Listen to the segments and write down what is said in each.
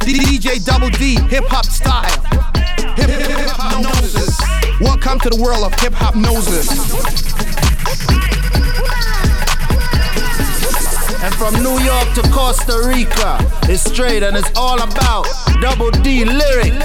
DJ Double D, hip hop style. Hip hop noses. Welcome to the world of hip hop noses. And from New York to Costa Rica, it's straight and it's all about Double D lyric.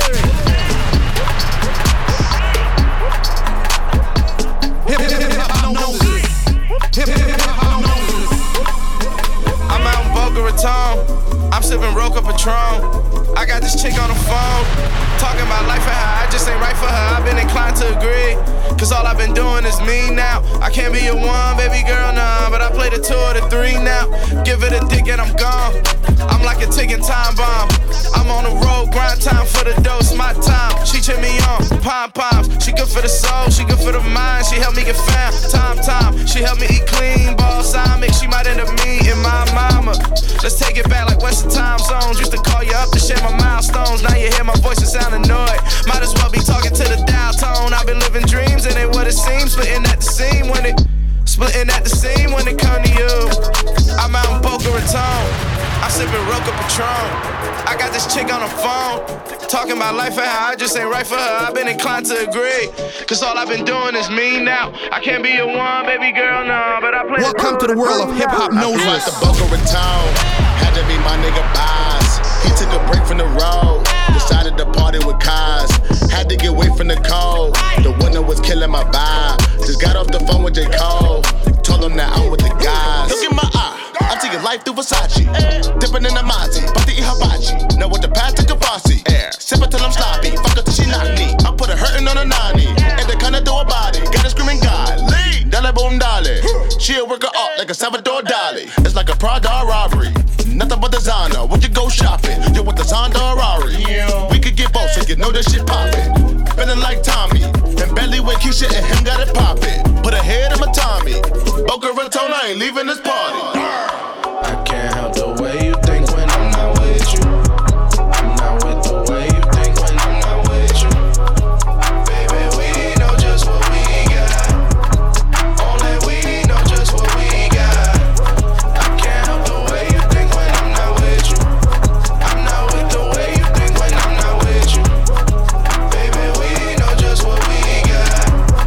Hip hop noses. Hip hop noses. I'm out in Boca Raton. I'm sipping Roca Patron. I got this chick on the phone, talking about life and how I just ain't right for her. I've been inclined to agree, cause all I've been doing is me now. I can't be your one, baby girl, nah, but I play the 2 or the 3 now. Give it a dick and I'm gone. I'm like a ticking time bomb. I'm on the road, grind time for the dose, my time. She cheer me on, pom-poms. She good for the soul, she good for the mind. She help me get found, time. She help me eat clean, balsamic. She might end up meeting my mama. Let's take it back like Western time zones. Used to call you up to share my milestones. Now you hear my voice and sound annoyed. Might as well be talking to the dial tone. I've been living dreams and ain't what it seems. Splitting at the seam when it come to you. I'm out in Boca Raton. I'm sipping Roca Patron. I got this chick on the phone, talking about life and how I just ain't right for her. I've been inclined to agree, cause all I've been doing is me now. I can't be your one, baby girl, no, but I play. Welcome to the world of hip hop noses. I flew out to Boca Raton, had to be my nigga Boz. He took a break from the road, decided to party with Kaz. Had to get away from the cold, the winter was killing my vibe. Just got off the phone with J. Cole, told him that I'm with the guys. Look in my eye, I'm taking life through Versace. Dipping in the Mozzie, about to eat hibachi. Now with the past to Kavasi, sip it till I'm sloppy, fuck her till she knock me. I put her hurting on a 90, and they kinda do a body. Got her screaming God, leave, dale boom dale. She'll work her up like a Salvador Dali. It's like a Prada robbery, nothing but designer. When you go shopping, you want the Zonda or Rari. We could get both, so you know this shit poppin'. Feeling like Tommy, and Bentley with Keisha and him got it poppin'. Put a head in my Tommy, Boca Raton, I ain't leaving this party. I can't help the way you think when I'm not with you. I'm not with the way you think when I'm not with you. Baby, we know just what we got. Only we know just what we got. I can't help the way you think when I'm not with you. I'm not with the way you think when I'm not with you. Baby, we know just what we got.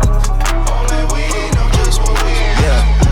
Only we know just what we got.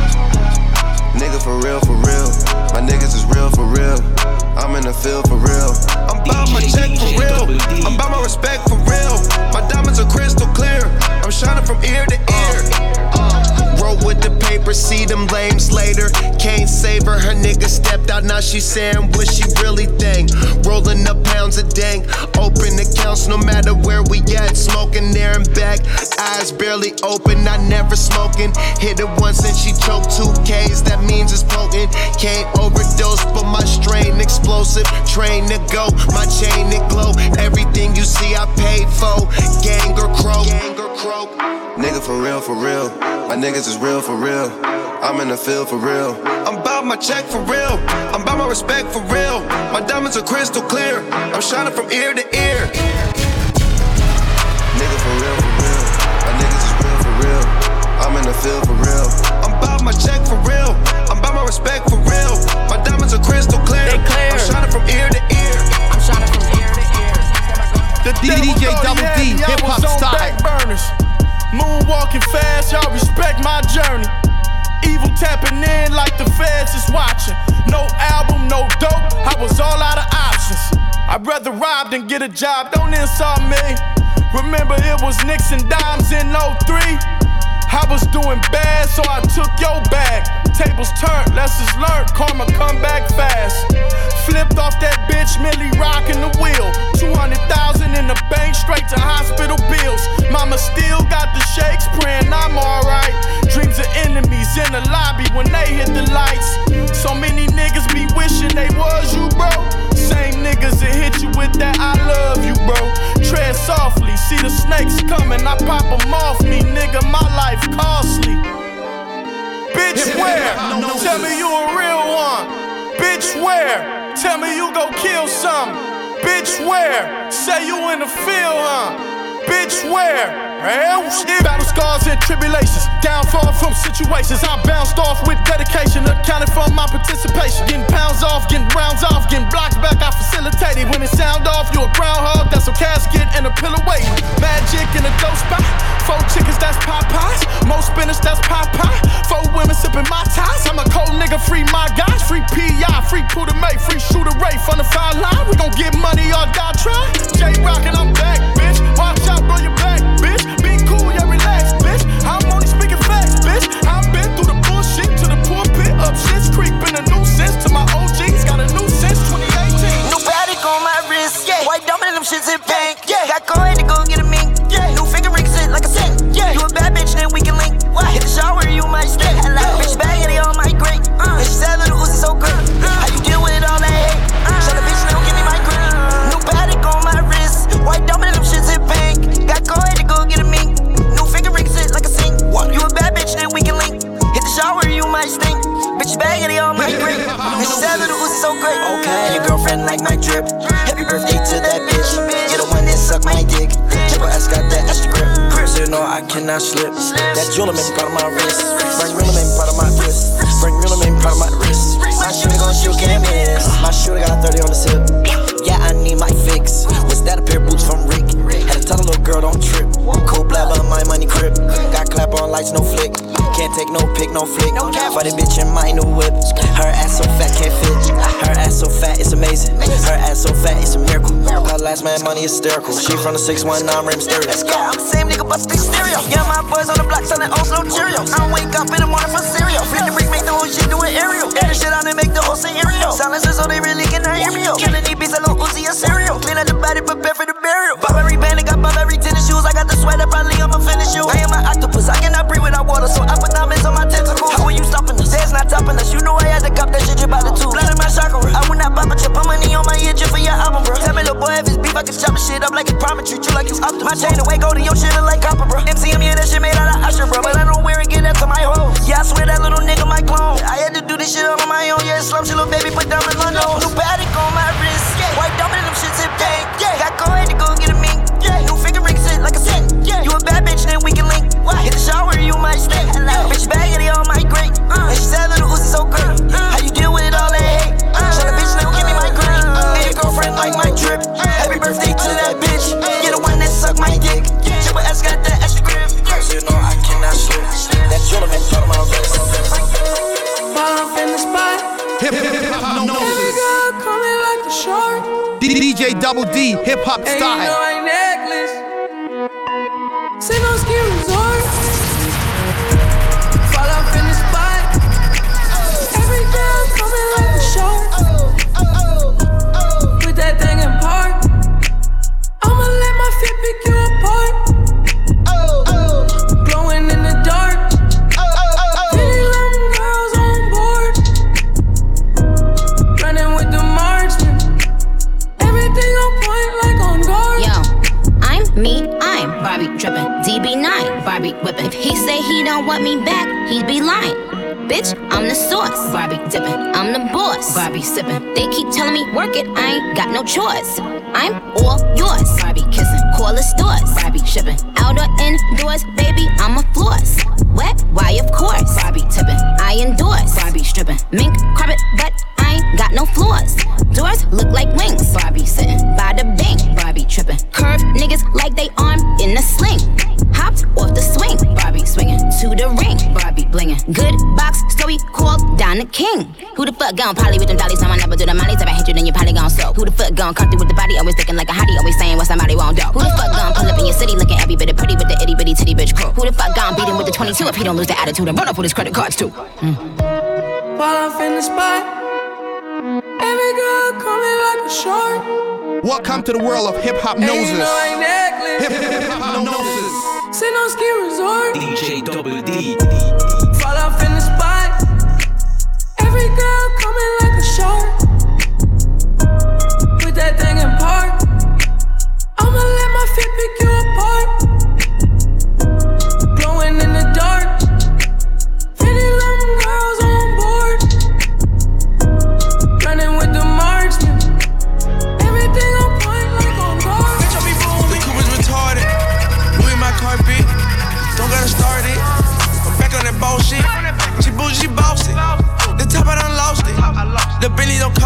Yeah, nigga for real, for real. My niggas is real for real. I'm in the field for real. I'm bout my check for real. I'm bout my respect for real. My diamonds are crystal clear. I'm shining from ear to ear. Roll with the paper, see them lames later. Can't save her, her nigga stepped out, now she saying what she really think. Rolling up pounds of dank, open accounts no matter where we at. Smoking there and back, eyes barely open, I never smoking. Hit it once and she choked 2 Ks, that means it's potent. Can't overdose, but my strain explosive. Train to go, my chain it glow. Everything you see I paid for, gang or croak. Nigga for real, for real. My niggas is real for real. I'm in the field for real. I'm bout my check for real. I'm bout my respect for real. My diamonds are crystal clear. I'm shining from ear to ear. Nigga for real, for real. My niggas is real for real. I'm in the field for real. I'm bout my check for real. I'm bout my respect for real. My diamonds are crystal clear. I'm shining from ear to ear. I'm shining from ear to ear. The DJ Double D, hip hop style. Moonwalking fast, y'all respect my journey. Evil tapping in like the feds is watching. No album, no dope, I was all out of options. I'd rather rob than get a job, don't insult me. Remember it was nicks and dimes in 03. I was doing bad, so I took your bag. Tables turned, lessons learned, karma come back fast. Flipped off that bitch, Millie rocking the wheel. 200,000 in the bank, straight to hospital bills. Mama still got the shakes, praying I'm alright. Dreams of enemies in the lobby when they hit the lights. So many niggas be wishing they was you, bro. Same niggas that hit you with that I love you, bro. Tread softly, see the snakes coming, I pop them off me, nigga, my life costly. Bitch, where? Tell me you a real one. Bitch, where? Tell me you go kill something. Bitch, where? Say you in the field, huh? Bitch, where? Battle scars and tribulations, downfall from situations. I bounced off with dedication, accounted for my participation. Getting pounds off, getting rounds off, getting blocks back, I facilitated. When when it sound off, you a groundhog, that's a casket and a pillow waiting. Magic in a dope spot. 4 chickens, that's Popeyes. More spinach, that's Popeye. 4 women sipping my ties. I'm a cold nigga, free my guys. Free P.I., free Puda May, free Shooter Ray from the foul line. We gon' get money or die trying. J-Rock and I'm back, bitch. Watch out, blow your back, bitch. Be cool, yeah, relax, bitch. I'm only speaking facts, bitch. I've been through the bullshit to the pulpit. Up shit's creek, been a nuisance to my OGs. Got a new since 2018. New Patek on my wrist, yeah. White diamond, them shits in pink, yeah. Got coin to go get a mink, yeah. New finger ring sit like a sink, yeah. You a bad bitch, then we can link. What? Hit the shower, you might stink. I like bitch bag and they all might great. And she said little Uzi so great. How you deal with all that hate? Shut the bitch, they don't give me my green. New Patek on my wrist, white diamond, them shits in pink. Got coin to go get a mink. New finger ring sit like a sink. What? You a bad bitch, then we can link. Hit the shower, you might stink. Bitch bag and they all might great. And she said little Uzi so great. Okay, your girlfriend like my drip. Happy birthday to that bitch. You're the one that suck my dick. Triple S got that extra grip. So you know I cannot slip. That jeweler made part of my wrist. Frank Miller made part of my wrist. Frank Miller made part of my wrist. My shooter gon' shoot, can't miss. My shooter got 30 on the tip. Yeah, I need my fix. Was that a pair of boots from Rick? Had to tell a little girl don't trip. Cold blabber, my money crib. Got clap on lights, no flick. Can't take no pic, no flick. For the bitch in my new whip. Her ass so fat, can't fit. Her ass so fat, it's amazing. Her ass so fat, it's a miracle. Her last man money hysterical. She from the 619 rim stereo. Let's go. I'm the same nigga, bust the stereo. Yeah, my boys on the block selling old slow Cheerios. I don't wake up in the morning for cereal. Flip the brick, make the whole shit do an aerial. Air the shit out and make the whole scenario. Silencers so they really can hear me. Killing these beats, a little Uzi a cereal. Clean up the body, prepare for the burial. Bob every band, got bob every tennis shoes. I got the sweater, probably I'ma finish you. I am an octopus, I cannot breathe without water, so I put diamonds on my tentacles. How are you stopping us? There's not topping us. You know I had to cop that shit by the two. Blood in my chakra. I would not pop a chip. Put money on my ear just for your album, bro. Tell me, little boy, if it's beef, I can chop the shit up like it's prime and treat you like it's up. My chain away, go to your shit like copper, bro. MCM, yeah, that shit made out of Usher, bro. But I don't wear it, get that to my hoes. Yeah, I swear that little nigga my clone. I had to do this shit all on my own. Yeah, slump shit, little baby, put diamonds on nose. New Patek on my wrist. White diamond, them shits in pink. Got coin to go get a mink. New finger ring sit like a sink. You a bad bitch, then we can link. Hit the shower, you might stink. Bitch bag and they all might great. And she said little Uzi so great. How you deal with all that hate? Shut the bitch, they don't give me my green. And your girlfriend like my drip. Happy birthday to that bitch. You're the one that suck my dick. Triple S got that extra grip. So you know I cannot slip. That jeweler made part of my wrist. While I'm in the spot, Hip hop noses. coming like a shark. DJ Double D, hip hop And you know style. I necklace. Say no ski resort. Fall off in the spot. Every girl coming like a shark. Put that thing in park. I'ma let my feet pick you apart. Glowing in the dark. Pretty little girls on board. Running with the marching. Everything on point like on guard. Yo, I'm me, I'm Barbie drippin', DB9, Barbie whippin'. If he say he don't want me back, he'd be lying. Bitch, I'm the sauce, Barbie dippin'. I'm the boss, Barbie sippin'. They keep telling me work it, I ain't got no choice. I'm all yours, Barbie kissin'. Call the stores, Barbie shippin'. Out or indoors, baby, I'm a floss. Wet, why of course, Barbie tippin'. I endorse, Barbie strippin'. Mink carpet, but I ain't got no floors. Doors look like wings, Barbie sittin'. By the bank, Barbie trippin'. Curve niggas like they arm in a sling. Hopped off the swing, Barbie swinging to the ring, Barbie blingin'. Good box story called Don the King. Who the fuck gon' poly with them dollies? Time I never do the mollies. If I hit you, then you probably gon' soak. Who the fuck gon' come through with the body? Always looking like a hottie, always saying what somebody won't do. Who the fuck gon' pull up in your city looking every bit of pretty with the itty bitty titty bitch crew? Who the fuck gon' beat him with the 22 if he don't lose the attitude and run up with his credit cards too? While I'm in the spot. Every girl coming like a shark. Welcome to the world of hip hop And you noses. know I necklace. Hip hop noses. Say no ski resort. DJ Double D. Fall off in the spot. Every girl coming like a shark. Put that thing in park. I'ma let my feet pick you apart. Glowing in the dark. Pretty little girls on board. Running with the marching. Everything on point like on guard. Bitch, I be boom. The coupe is retarded. Louis my carpet. Don't gotta start it. I'm back on that bullshit. She bougie, she bossy. The top I done lost it. The Bentley don't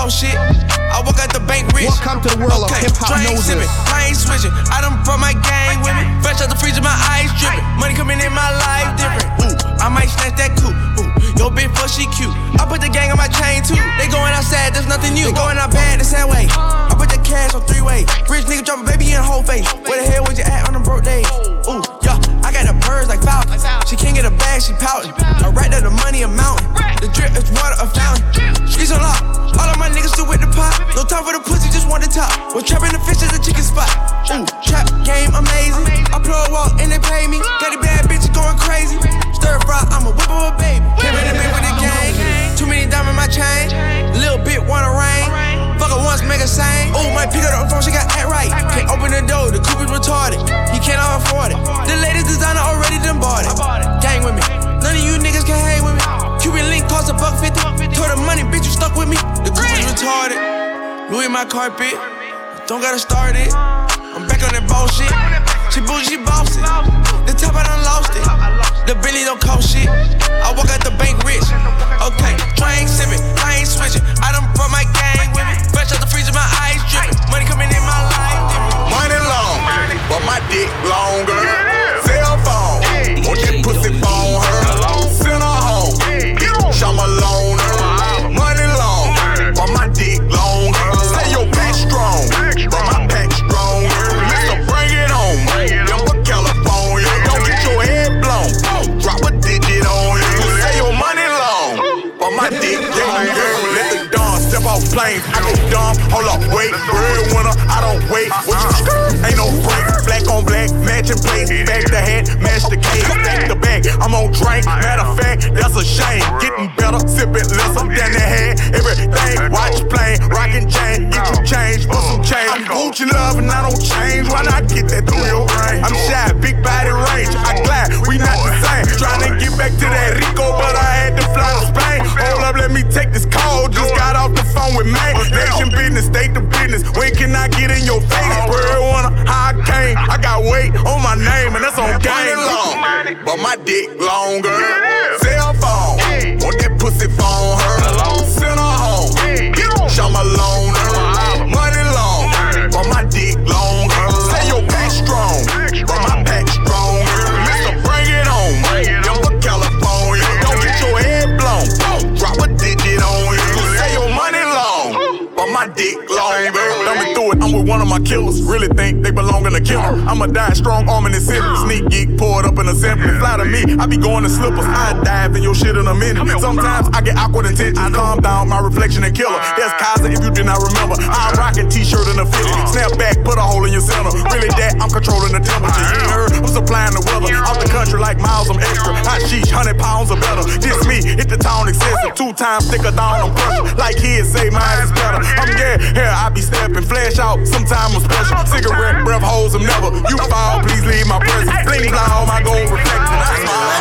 I walk out the bank rich. Welcome to the world of hip-hop noses. I ain't switching. I done brought my gang with me. Fresh out the freezer, my eyes dripping. Money coming in my life different. Ooh, I might snatch that coupe. Ooh, yo bitch, fuck, she cute. I put the gang on my chain too. They going outside, there's nothing new. They going out bad the same way. I put the cash on three-way. Rich nigga drop a baby in whole face. Where the hell was you at on them broke days? Ooh, yeah, I got the birds like Falcon. She can't get a bag, she pouting. I right there, the money a mountain. The drip is water, a fountain. Streets unlocked. All of my niggas still with the pot. No time for the pussy, just want the top. Was trapping the fish at the chicken spot. Ooh, trap game amazing. I plug walk and they pay me. Got the bad bitches going crazy. Stir fry, I'm a whip of a baby. Came in the bed with the gang. Too many diamonds in my chain. Little bit wanna rain. Fuck her once, make her sing. Ooh, might pick up the phone, she got that right. Can't open the door, the coupe is retarded. He cannot afford it. The latest designer already done bought it. Gang with me. None of you niggas can hang with me. Cuban link cost $1.50. Told her money, bitch, you stuck with me. The coupe is retarded. Louis my carpet. Don't gotta start it. I'm back on that bullshit. She bougie, she bossy. The top I done lost it. The Bentley don't cost shit. I walk out the bank rich. Okay, I ain't sippin', I ain't switching. I done brought my gang with me. Fresh out the freezer, my eyes drippin'. Money coming in my life. Money long, but my dick longer. Cell phone, want that pussy phone her. Send her home, I'm a loner. Money long, but my dick longer. Say your bitch strong, but my pack stronger. Listen, bring it on, Denver, California. Don't get your head blown. Drop a digit on you. Say your money long, but my dick longer. Let the dawn step off planes. I go dumb, hold up, wait. Real winner, I don't wait. What you ain't no break. Black on black, matching plates. Back the hat, match the case. Back the back, I'm on drink. Matter of fact, that's a shame. Getting better, sipping less. I'm down the head. Everything, watch plane, rockin' chain. Get you change for some change. I'm Gucci love and I don't change. Why not get that through your brain? I'm shy, big body range. I glide, we not the same. Trying to get back to that Rico, but I had to fly to Spain. Hold up, let me take this call. Just got off the phone with May. Nation business, state the business. When can I get in your face? Real winner, how I came. I got weight on my name, and that's on game. Long, but my dick longer. Cell phone, want that pussy phone her. Send her home, I'm a loner. Money long, but my dick longer. Say your bitch strong, but my pack stronger. Listen, bring it on, Denver, California. Don't get your head blown. Drop a digit on you. Say your money long, but my dick longer. Let me through it, I'm with one of my killers. Really think they belong in a killer. I'ma die strong arm in the city. Sneak geek, pour it up in assembly. Fly to me, I be going to slippers. I dive in your shit in a minute. Sometimes I get awkward intentions. Calm down, my reflection and killer. There's Kaiser if you did not remember. I'm rocking t-shirt in a fitted. Snap back, put a hole in your center. Really that, I'm controlling the temperature. You ain't heard, I'm supplying the weather. Out the country like miles, I'm extra. Hot sheesh, 100 pounds or better. This me, hit the town excessive. 2 times thicker down, I'm pressure. Like kids say, mine is better. I'm yeah, here I be stepping. Flash out, sometime I'm special. Cigarette breath holds them never. You fall, please leave my presence. Bling blah, all my gold reflecting. I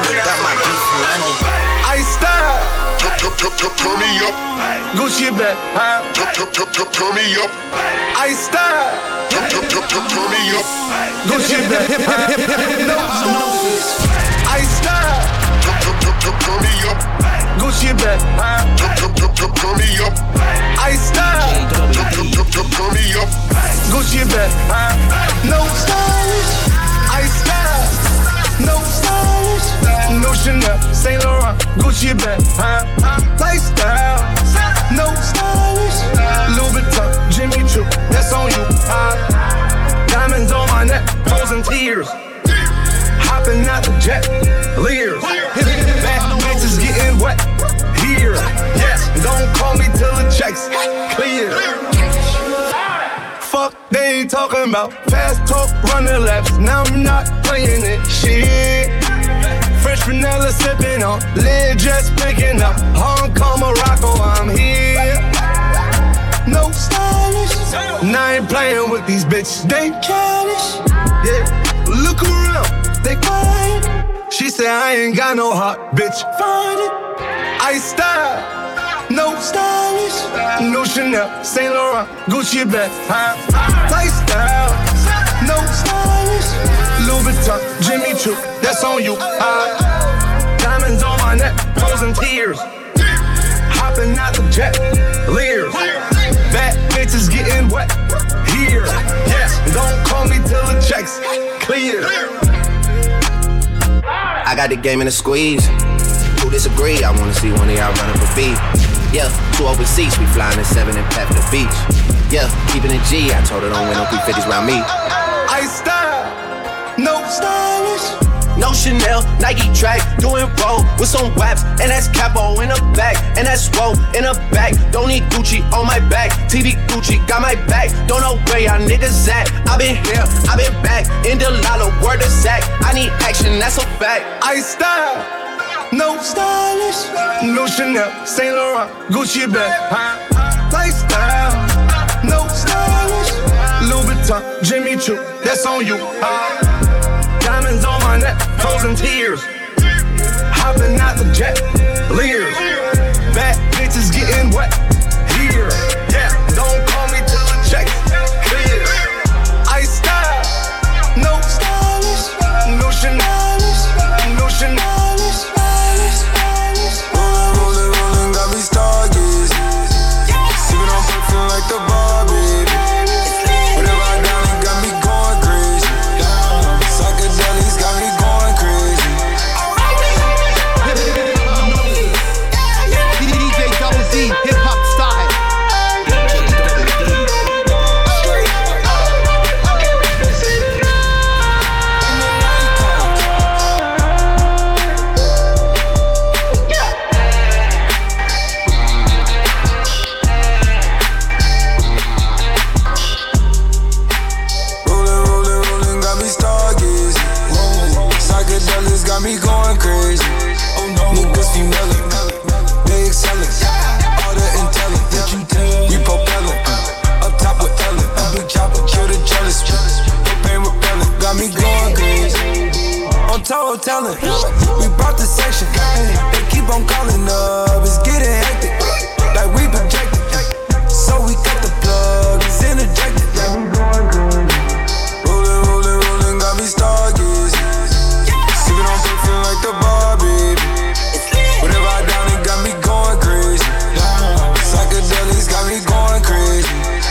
smile. I style. Turn me up. Gucci back, huh? Turn me up. I style. Turn me up. Gucci back, I style. Turn me up. Gucci back, huh? Turn me up. I style. Turn me up. Gucci back, huh? No stylish. I style. No stylish. No Chanel, Saint Laurent, Gucci bag, huh? Lifestyle, no stylish. Louis Vuitton, Jimmy Choo, that's on you, huh? Diamonds on my neck, frozen tears. Hopping out the jet, leers. Back bitches getting wet here. Yes, don't call me till the checks clear. Fuck, they ain't talking about fast talk, running laps. Now I'm not playing it, shit. Fresh vanilla sipping on, lid just picking up. Hong Kong, Morocco, I'm here. No stylish. Now I ain't playing with these bitches, they childish. Yeah, look around, they quiet. She said I ain't got no heart, bitch, find it. I style, no stylish. No Chanel, Saint Laurent, Gucci bag, huh? Lifestyle, no stylish. Louis Vuitton, Jimmy Choo, that's on you. Diamonds on my neck, frozen tears. Hopping out the jet, leers. case clear. I got the game in a squeeze. Who disagree? I wanna see one of y'all running for beat. Yeah, 2 open seats, we flying in 7 and pep the beach. Yeah, keeping it G, I told her don't win no 350s round me. I style, no stylish. No Chanel, Nike track, doing roll with some waps, and that's capo in the back, and that's woe in the back. Don't need Gucci on my back, TV Gucci got my back. Don't know where y'all niggas at. I been here, I been back, in the lala, word of Zach. I need action, that's a fact. I style, no stylish. No Chanel, Saint Laurent, Gucci bag. Lifestyle, no stylish. Louis Vuitton, Jimmy Choo, that's on you. Diamonds on my neck, frozen tears. Hopping out the jet, leers. Bad bitches getting wet here. Yeah, don't call me till the check clear. I style, no stylish, no Chanelish, no Chanelish. Rollin', rollin', got me stargazing. Sippin' on perfume like the bar, baby. Whatever I down, it got me going crazy. Psychedelics got me going crazy. DJ Double D, hip hop style. Rollin', got me stargazing. Psychedelics got me going crazy. Oh no, niggas female, they excellent. All the intelligent, we propelling. Up top with Ellen, a big chopper, kill the jealous. Propane repellent, got me going crazy. On total talent, we brought the section. They keep on calling up, it's getting hectic. Like we projected, so we cut the plug, it's interjected. Rollin', got me stargazing. Sippin' on perfume like the bar, baby. Whatever I down, it got me going crazy. Psychedelics got me going crazy.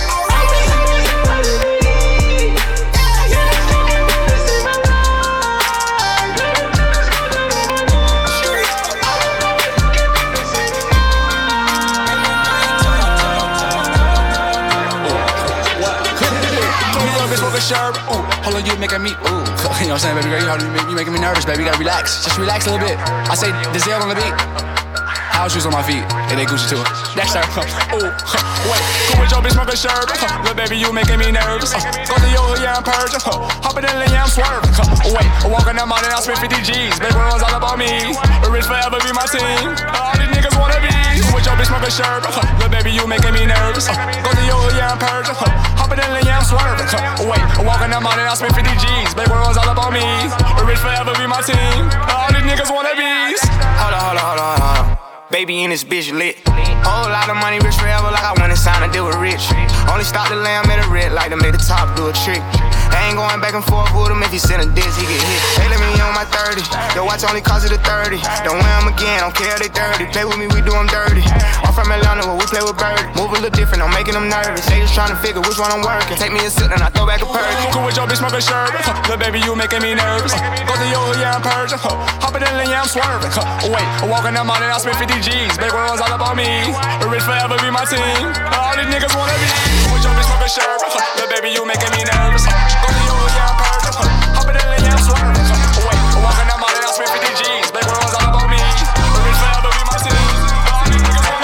Sharp. Ooh, hold on, you making me, ooh. You know what I'm saying, baby girl, you making me nervous, baby. You gotta relax. Just relax a little bit. I say Dizelle on the beat. House shoes on my feet, and they Gucci too. Next time, ooh, wait. Go with your bitch, smoke a shirt. Little baby, you making me nervous. Go to your hood, yeah, I'm purge. Hopping in the yeah, I'm swerving. Wait, walking that mountain, I spend 50 G's. Big one's all about me. Rich forever be my team. All these niggas wanna be. Go with your bitch, smoke a shirt. Little baby, you making me nervous. Go to your hood, yeah, I'm purge. Hopping in the yeah, I'm swerving. Wait, walking that mountain, I spend 50 G's. Big one's all about me. Rich forever be my team. All these niggas wanna be. Hold on. Baby in this bitch lit. Whole lot of money, rich forever, like I went and signed a deal with Rich. Only stop the lamb at a red light to make the top do a trick. I ain't going back and forth with him. If he send a diss, he get hit. They let me on my 30. Your watch only cost it a 30. Don't wear them again, don't care they 30. Play with me, we do them dirty. I'm from Atlanta where we play with Birdie. Move a little different, I'm making them nervous. They just trying to figure which one I'm working. Take me a sip and I throw back a perk. Cool with your bitch, smoke a shirt. Little baby, you making me nervous. Go to your hood, yeah, I'm purging. Hopping in the yeah, I'm swerving. Wait, walking that mountain, I spend 50 G's. Big one's all about me. Rich forever be my team. All these niggas wanna be. With your bitch, smoke a shirt. Little baby, you making me nervous. Go to your hood, yeah, I'm purging. Hopping in the yeah, I'm swerving. Wait, walking that mountain, I spend 50 G's. Big one's all about me. Rich forever be my team. All these niggas wanna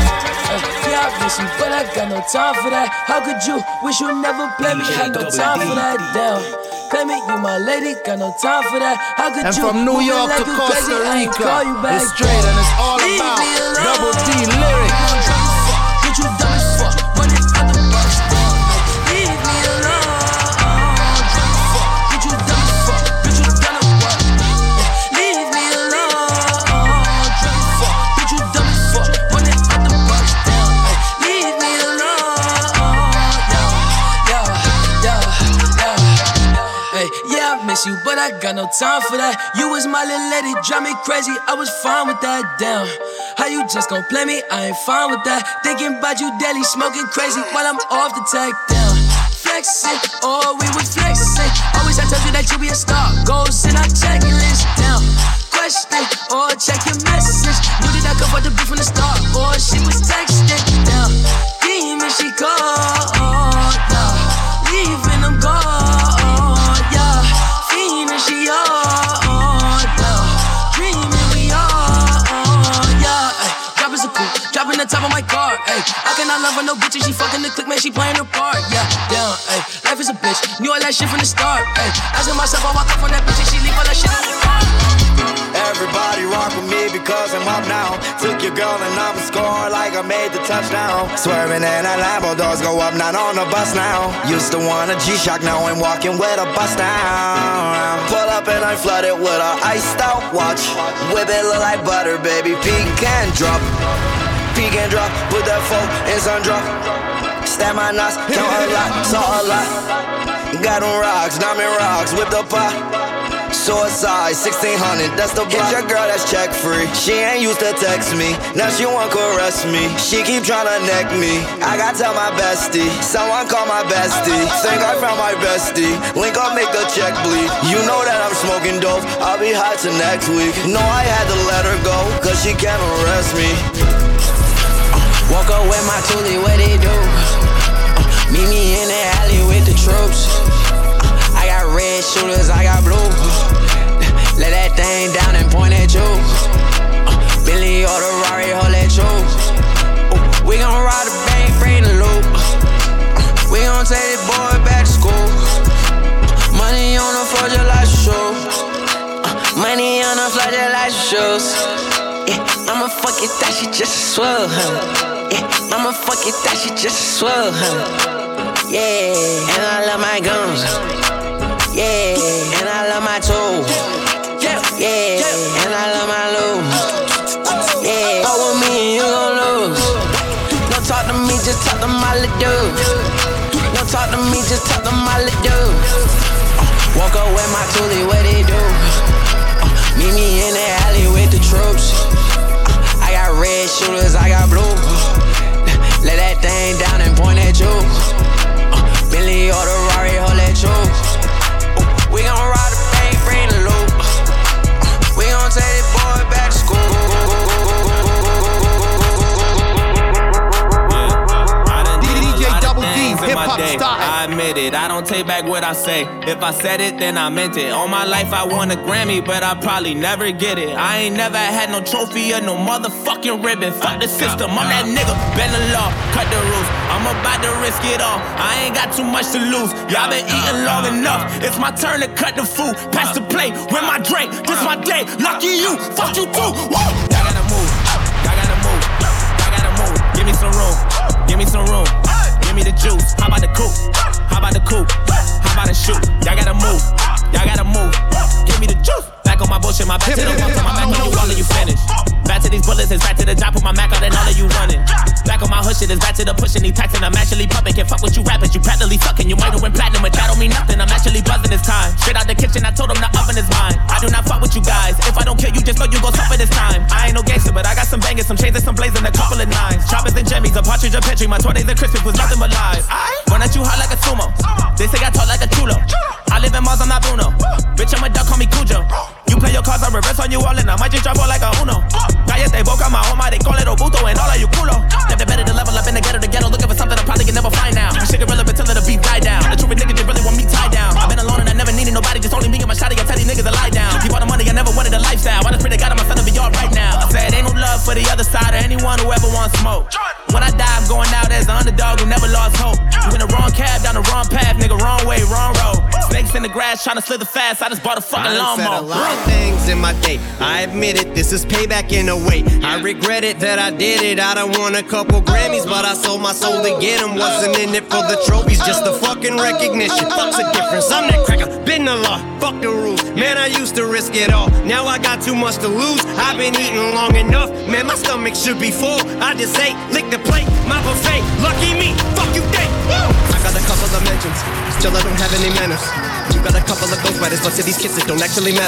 be. Yeah, I miss you, but I got no time for that. How could you wish you never play me? Had no time for that. Damn. Play me, you my lady, got no time for that. How could and you? From New York to Costa Rica, it's straight and it's all about Double D lyrics. Get you dumb as fuck, run it out the bus. Leave me alone. Get you dumb as fuck, bitch you done a what? Leave me alone. Get you dumb as fuck, run it out the bus. Leave me alone. Yeah, I miss you, but I got no time for that. You was my little lady, drive me crazy. I was fine with that, damn. How you just gon' play me? I ain't fine with that. Thinking about you daily, smoking crazy while I'm off the tech, damn. flexing, or we was flexing. Always I told you that you be a star. Goals in our checklist. Now, question, or check your message. Knew that I could fuck the beat from the start, or she was texting. Now, demon she called, yeah. Leaving them gone, yeah. Fiending she on, yeah. Dreaming we on, yeah. Drop is a cool, dropping the top of my car, ayy. I cannot love her, no bitch, and she fucking the click, man, she playing her part, yeah, yeah, ayy. Life is a bitch, knew all that shit from the start, ayy. Asking myself, I walk up on that bitch and she leave all that shit on the car. Everybody rock with me because I'm up now. Took your girl and I'm scoring like I made the touchdown. Swerving in a Lambo, doors go up, not on the bus now. Used to want a G-Shock, now I'm walking with a bust down. Pull up and I'm flooded with a iced out watch. Whip it look like butter, baby, peek and drop. Peek and drop, put that phone in sun drop. Stab my knots, count a lot, saw a lot. Got them rocks, diamond rocks, whip the pot. Suicide, 1600, that's the block. Get your girl that's check free. She ain't used to text me, now she want caress me. She keep tryna neck me, I gotta tell my bestie. Someone call my bestie, think I found my bestie. Link up, make the check bleed. You know that I'm smoking dope, I'll be hot till next week. No, I had to let her go, cause she can't arrest me. Woke up with my toolie, what they do? Meet me in the alley with the troops. I got red shooters, I got blue. Let that thing down and point at you. Billy or the Rari, hold that you. We gon' ride the bank, bring the loop. We gon' take this boy back to school. Money on the floor just like shoes. Money on the floor just like shoes. Yeah, I'ma fuck it, that she just swell, huh? Yeah, I'ma fuck it, that she just swell, huh? Yeah, and I love my guns. Yeah, and I love my tools. Yeah, and I love my loot. Yeah, fuck with me and you gon' lose. Don't talk to me, just talk to my little dude. Don't talk to me, just talk to my little dude. Woke up with my toolie, what they do? Meet me in the alley with the troops. I got red shooters, I got blue. Let that thing down and point at you. Billy or the Rari, hold that you. We gon' ride the bank, bring the loop. We gon' take this boy back to school. DJ Double D, hip-hop style. I admit it, I don't take back what I say. If I said it, then I meant it. All my life I won a Grammy, but I probably never get it. I ain't never had no trophy or no motherfucking ribbon. Fuck the system, I'm that nigga, bend the law, cut the rules. I'm about to risk it all, I ain't got too much to lose. Y'all been eating long enough, it's my turn to cut the food. Pass the plate, with my drink, this my day. Lucky you, fuck you too, woo! Y'all gotta move, y'all gotta move, y'all gotta move. Give me some room, give me some room. Give me the juice, how about the coupe? How about the coupe? How about the shoot? Y'all gotta move, y'all gotta move. Give me the juice. Back on my bullshit, my back to the wall, my back on you, all of you finished. Back to these bullets, it's back to the job, put my Mac out and all of you running. Back on my hood shit, it's back to the pushing, these taxing, I'm actually pumping. Can't fuck with you rappers, you practically sucking. You might have went platinum, but that don't mean nothing, I'm actually buzzing this time. Straight out the kitchen, I told him the oven is mine. I do not fuck with you guys, if I don't kill you, just know you gon' suffer this time. I ain't no gangster, but I got some bangers, some chains and some blazing, a couple of nines. Choppers and jimmies, a partridge, a petri, my 20s and Christmas was nothing but lies. Run at you hot like a sumo, they say I talk like a chulo. I live in Mars, I'm not Bruno. Bitch, I'm a duck, call me Cujo. You play your cards, I reverse on you all, and I might just drop all like a Uno. Cállate boca, my home, they call it Obuto, and all of you culo. Never better to level up in the ghetto, looking for something I probably can never find now. Shit irrelevant till the beat die down. The truth niggas just really want me tied down. I've been alone and I never needed nobody, just only me and my shawty. I tell these niggas to lie down. Keep all the money, I never wanted a lifestyle. I just pray to God I'm son to be all right now. I said ain't no love for the other side or anyone who ever wants smoke. When I die, I'm going out as the underdog who never lost hope. You in the wrong cab, down the wrong path, nigga, wrong way, wrong road. Snakes in the grass, trying to slither fast. I just bought a fucking lawnmower. I said a lot of things in my day. I admit it, this is payback in a way. I regret it that I did it. I done won a couple Grammys, but I sold my soul to get them. Wasn't in it for the trophies, just the fucking recognition. Fuck's the difference, I'm that cracker, been the law, fuck the rules. Man, I used to risk it all, now I got too much to lose. I've been eating long enough, man, my stomach should be full. I just ate, lick the plate, my buffet. Lucky me, fuck you think. I got a couple of mentions, still I don't have any manners. You got a couple of ghostwriters, but to these kids it don't actually matter.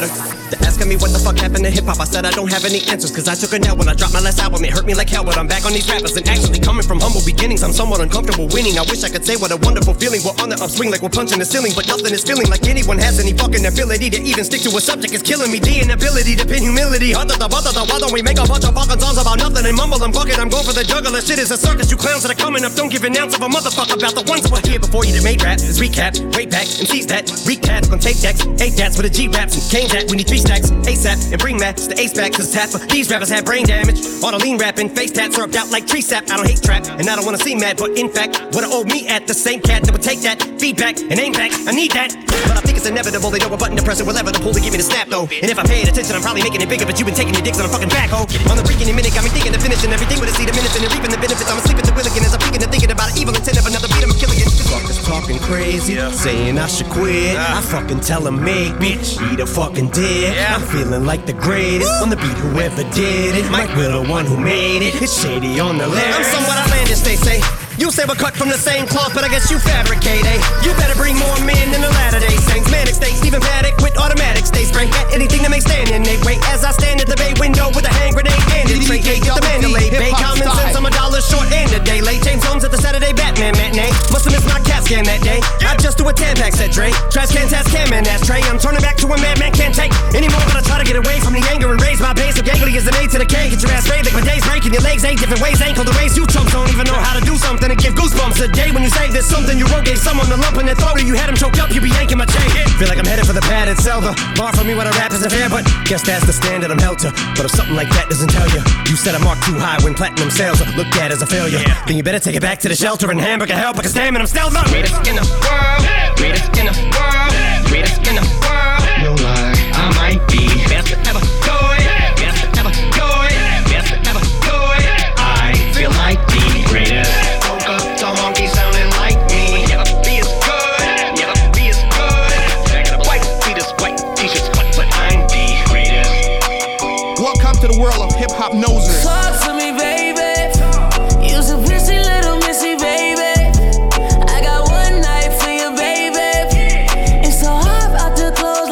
They're asking me what the fuck happened to hip-hop. I said I don't have any answers, cause I took a L when I dropped my last album. It hurt me like hell, but I'm back on these rappers. And actually coming from humble beginnings, I'm somewhat uncomfortable winning. I wish I could say what a wonderful feeling. We're on the upswing like we're punching the ceiling, but nothing is feeling like anyone has any fucking ability to even stick to a subject. Is killing me. The inability to pin humility. Why don't we make a bunch of fucking songs about nothing and mumble and bucket? I'm going for the juggler. Shit is a circus. You clowns that are coming up don't give an ounce of a motherfucker about the ones that were here before you that made rap. This recap, way back, MCs that recap on tape decks, 8 dats with a G raps and came that we need 3 stacks ASAP and bring Max the ace back, cause tap for these rappers have brain damage. All the lean rapping, face tats syrupped out like tree sap. I don't hate trap and I don't wanna see mad, but in fact, what I owe me at the same cat that would take that feedback and aim back. I need that, but I think it's inevitable. They know a button to press it, whatever to pull to give me the snap though. And if I paid attention, I'm probably making it bigger, but you've been taking your dicks on a fucking backhoe. On the freaking minute, got me thinking of finishing everything with a seed of minutes and reaping the benefits. I'm asleep at the wheel again as I'm thinking and thinking about an evil intent of another beat. I'm killing it. Fuckers talking crazy, saying I should quit. I fucking tell them make me eat a fucking dick. I'm feeling like the greatest on the beat, whoever did it. Mike Will, the one who made it. It's shady on the lyrics. I'm somewhat outlandish, they say. You say we're cut from the same cloth, but I guess you fabricate, eh? You better bring more men than the Latter-day Saints. Manic state, Stephen Paddock with automatic stay spray at anything that may stand in their way. As I stand at the bay window with a hand grenade and a tray, the Mandalay Bay. Common sense, I'm $1 short and a day late. James Holmes at the Saturday Batman matinee. Must've missed my CAT scan that day. I just do a Tampax, said Dre. Trash can, task cam, and ashtray. I'm turning back to a madman can't take anymore, but I try to get away from the anger and raise my base. So gangly is an A to the K. Get your ass sprayed like my days breaking your legs 8 different ways. Ankle the ways you chumps don't even know how to do something and give goosebumps. A day when you say there's something you wrote, gave someone the lump in their throat, or you had him choked up, you be yanking my chain. Feel like I'm headed for the padded cell. The bar for me when I rap isn't fair, but guess that's the standard I'm held to. But if something like that doesn't tell you, you set a mark too high when platinum sales are looked at as a failure, then you better take it back to the shelter and hamburger help, because damn it, I'm still the greatest in the world, greatest in the world, greatest in the world. No lie, I might be best to ever do it, best to ever do it, best to ever do it. I feel like the greatest. Some monkey sounding like me. Never be as good, never be as good. Back in the white, see this white t-shirts, but I'm the greatest. Welcome to the world of hip-hop noses. Talk to me, baby. You's a pissy little missy, baby. I got one night for you, baby. It's so hard out the clothes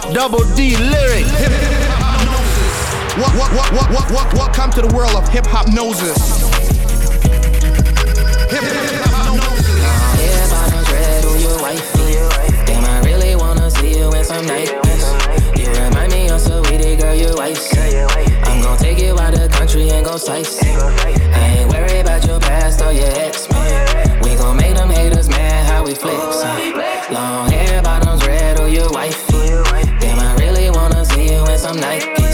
Double D lyric. Welcome to the world of hip hop noses. Bottoms red, who you wifey? Damn, I really wanna see you in some nightmares. You remind me of Sweetie, girl, you icy. I'm gon' take you out the country and go sightseeing. I ain't worried about your past or your ex, man. We gon' make them haters mad how we flexin'. Long hair, bottoms red, who you wifey? Damn, I really wanna see you in some Nikes.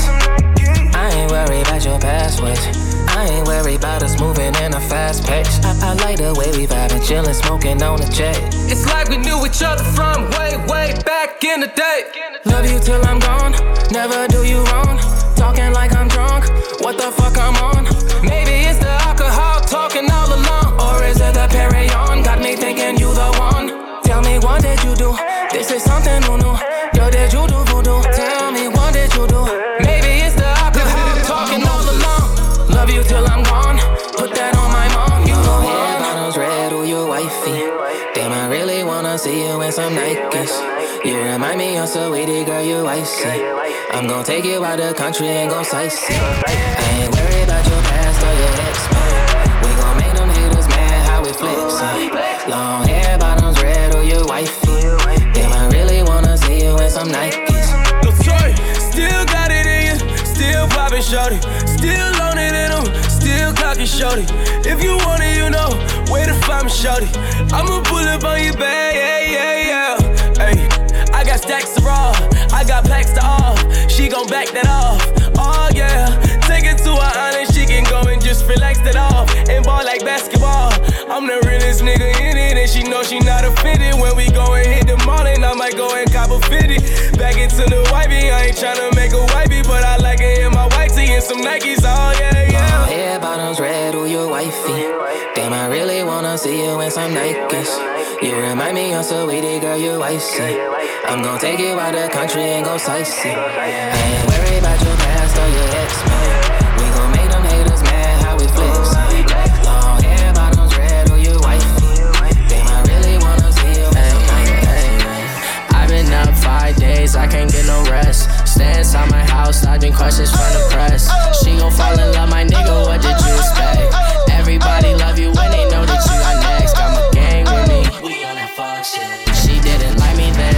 I ain't worried about your passwords. I ain't worried about us moving in a fast pace. I like the way we vibing, chillin', smoking on the jet. It's like we knew each other from way, way back in the day. Love you till I'm gone, never do you wrong. Talking like I'm drunk, what the fuck I'm on? Maybe it's the alcohol talking all along. Or is it the Perrier? Got me thinking you the one. Tell me what did you do? This is something new. Yo, did you do voodoo? Tell me what did you do? Maybe it's the alcohol talking all along. Love you till I'm gone, put that on my mom. You know hair, bottoms red, who you wifey? Damn, I really wanna see you in some Nikes. You remind me of Sweetie, girl, you icy. I'm gon' take you out the country and go sightseeing. I ain't worried about your past or your ex, man. We gon' make them haters mad how we flexin'. Long hair, bottoms red, who you wifey? Damn, I really wanna see you in some Nikes. Yo, Troy, still got it in you, still poppin' shorty, still on it in them, still clockin' shorty. If you want it, you know where to find me, shorty. I'ma pull up on you, babe, yeah. Hey, I got stacks to raw, I got packs to off. She gon' back that off, oh yeah. Take it to her island, she can go and just relax that off and ball like basketball. I'm the realest nigga in it, and she know she not offended. When we go and hit the mall, and I might go and cop a 50. Back into the wifey, I ain't tryna make a wifey, but I like it in my white tee and some Nikes, oh yeah. Long hair, bottoms red, who you wifey? Damn, I really wanna see you in some Nikes. You remind me of Sweetie, girl, you icy. I'm gon' take you out the country and go sightseeing. I ain't worried about your past or your ex, man. We gon' make them haters mad how we flexin'. Long hair, bottoms red, who you wifey? Damn, I really wanna see you in some Nikes. I've been up 5 days, I can't get no rest. Stay inside my house, dodging questions from the press. She gon' fall in love, my nigga, what did you expect? Everybody love you when they know that you are next. Got my gang with me. We on that fuck shit. She didn't like me then.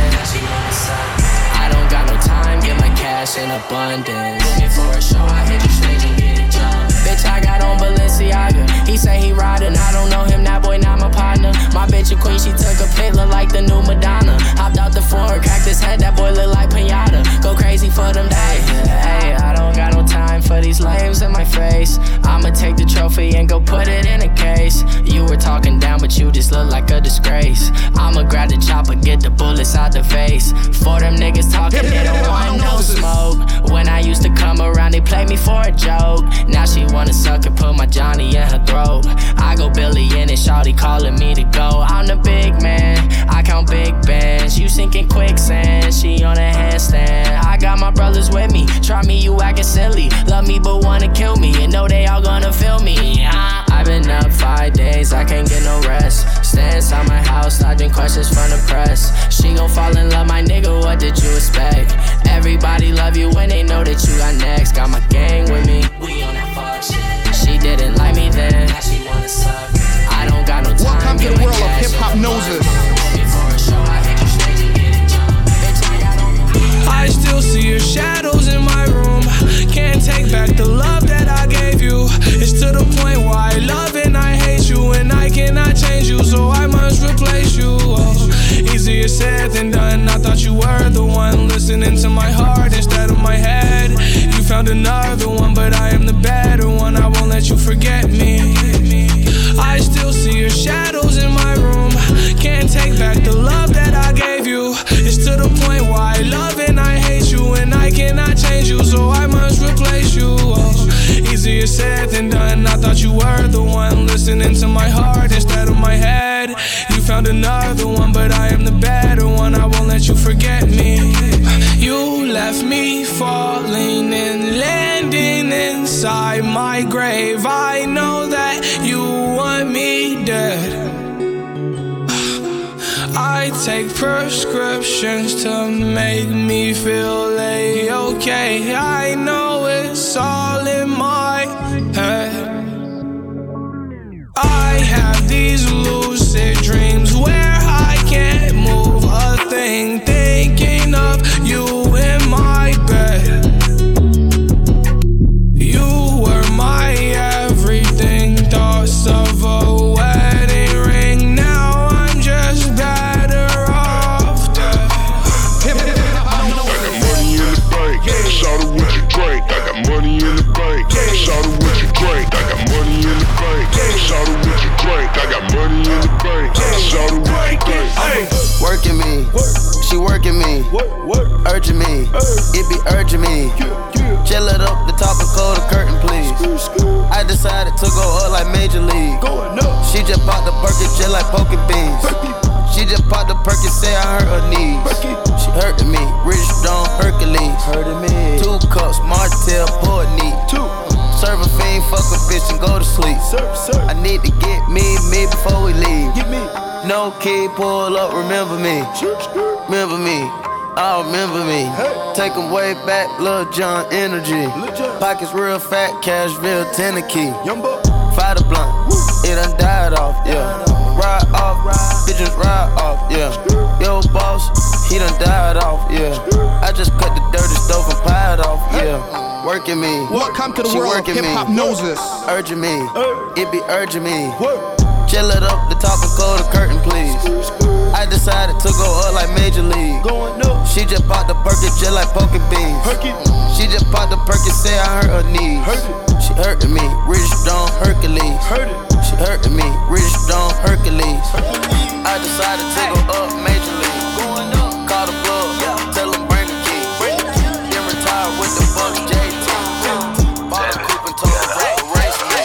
I don't got no time, get my cash in abundance. Looking for a show, I hit the stage and get it jumped. Bitch, I got on Balenciaga. He say he riding, I don't know him, that boy not my partner. My bitch a queen, she took a pic, look like the new Madonna. Hopped out the floor, cracked his head, that boy look like pinata. Go crazy for them days. Hey, I don't got no time for these lames in my face. I'ma take the trophy and go put it in a case. You were talking down, but you just look like a disgrace. I'ma grab the chopper, get the bullets out the face. For them niggas talking, they don't want no smoke. When I used to come around, they played me for a joke. Now she wanna suck and put my Johnny in her throat. I go Billy in it, shawty calling me to go. I'm the big man, I count big bands. You sinking quicksand, she on a handstand. I got my brothers with me, try me, you acting silly. Love me but wanna kill me, and know they all gonna feel me. I've been up 5 days, I can't get no rest. Stay inside my house, dodging questions from the press. She gon' fall in love, my nigga, what did you expect? Everybody love you when they know that you are next. Got my gang with me. We on that fuck shit. She didn't like me then. Now she wanna suck. I don't got no time. Welcome to the world of hip hop noses. I still see your shadows in my room. Can't take back the love that I gave you. It's to the point where I love and I hate you, and I cannot change you, so I must replace you. Oh, easier said than done. I thought you were the one listening to my heart instead of my head. You found another one, but I am the better one. I won't let you forget me. I still see your shadows in my room. Can't take back the love that I gave you. It's to the point where I love and I hate you, and I cannot change you, so I must replace you. Oh, easier said than done. I thought you were the one listening to my heart instead of my head. You found another one, but I am the better one. I won't let you forget me. You left me falling and landing inside my grave. I know that you want me dead. I I take prescriptions to make me feel A-okay. I know it's all in my head. I have these lucid dreams where I can't move a thing, thinking of you in my bed. You were my everything, thoughts of a wedding ring. Now I'm just better off dead. I got money in the bank, shout out what you drink. I got money in the bank, shout out what you drink. I got money in the bank, shout out what you drink. I got money in the bank, shout out what you drink. Working me, she working me, urging me, it be urging me. Chill it up, the top and close the curtain, please. I decided to go up like Major League. She just popped the Perky just like poking beans. She just popped the Perky, say I hurt her knees. She hurting me, Rich Stone Hercules. 2 cups, Martell, pour it neat. Serve a fiend, fuck a bitch and go to sleep. I need to get me before we leave. No key, pull up, remember me. Remember me. Oh, remember me. Take 'em way back, Lil Jon energy. Pockets real fat, cash real Tennessee. Fire the blunt, it done died off, yeah. Ride off, bitches ride off, yeah. Yo, boss, he done died off, yeah. I just cut the dirty stove and pied off, yeah. Working me. Welcome to the world of hip-hop noses. Urging me, it be urging me. Chill it up, the top and close the curtain, please. I decided to go up like Major League. She just popped the Perky just like poking beans. She just popped the Perky, say I hurt her knees. She hurting me, Rich Stone Hercules. She hurting me, Rich Stone Hercules. I decided to go up Major League. Call the plug, tell them bring the key. Then retire with the Bucks JT. Bought a coupe and told the race me.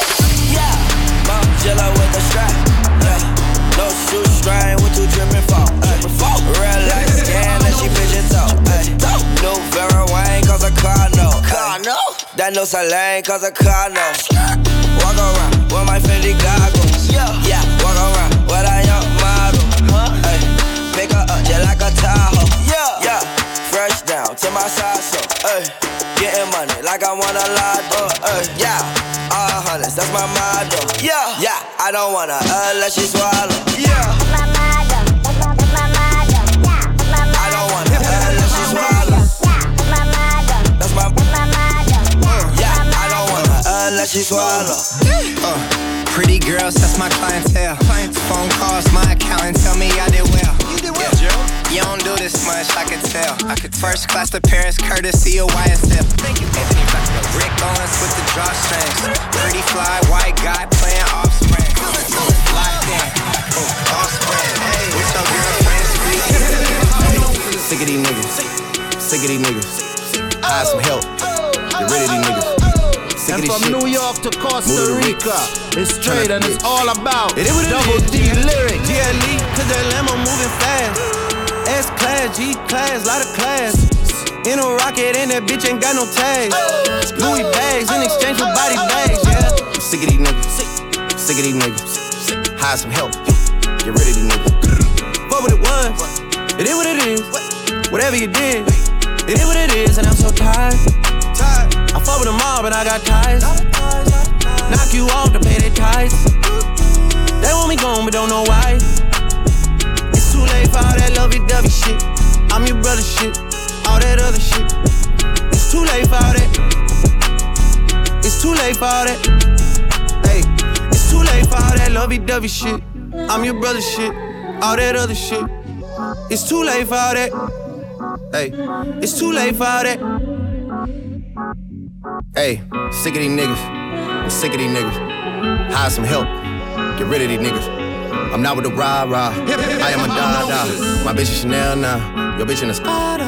Jello with the strap, no shoestring with 2 dripping fall. Real life scan that she pigeon toe. New Vera Wayne cause a car no. That no Salane cause a car no. Walk around with my Fendi goggles. Yeah, walk around with a young model. Pick her up just like a Tahoe. Yeah, fresh down to my side so. Getting money like I want a lot. Yeah. All hundreds, that's my motto. Yeah, I don't wanna let she swallow. Yeah, that's my motto. That's my motto. I don't wanna let she swallow. That's my motto. That's my motto. Yeah, I don't wanna let she swallow. Pretty girls, that's my clientele. Phone calls, my accountant tell me I did well. You did well, Joe. You don't do this much, I could tell. First class to Paris, courtesy of YSL. Thank you, Anthony. Rick Owens with the drawstrings. Pretty fly, white guy playing offspring. Locked in, offspring. With your girlfriend speaking. Sick of these niggas. Sick of these niggas. I have some help. Get rid of these niggas. And from shit. New York to Costa Rica, it's straight and it's all about Double D lyrics. GLE, cause that Lambo moving fast. S-class, G-class, lot of class. In a rocket and that bitch ain't got no tags. Louis bags in exchange for body bags, yeah. I'm sick of these niggas. Sick of these niggas. Hire some help. Get rid of these niggas. Fuck what it was. It is what it is. Whatever you did, it is what it is, and I'm so tired. I fuck with them all, but I got ties. Knock you off to pay their ties. They want me gone, but don't know why. It's too late for all that lovey-dovey shit. I'm your brother shit, all that other shit. It's too late for all that. It's too late for all that. Hey, it's too late for all that lovey-dovey shit. I'm your brother shit, all that other shit. It's too late for all that. Hey, it's too late for all that. Hey, sick of these niggas. I'm sick of these niggas. Hire some help. Get rid of these niggas. I'm not with the rah-rah. I am a da-da. My bitch is Chanel now. Your bitch in a Spada.